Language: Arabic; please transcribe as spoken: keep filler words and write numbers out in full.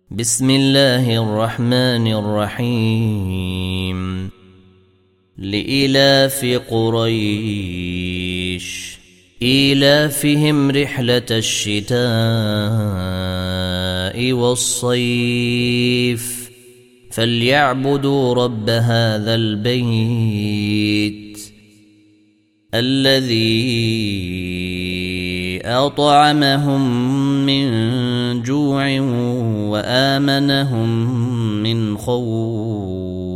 بسم الله الرحمن الرحيم لإلاف قريش إيلافهم رحلة الشتاء والصيف فليعبدوا رب هذا البيت الذي أطعمهم من جوع وآمنهم من خوف.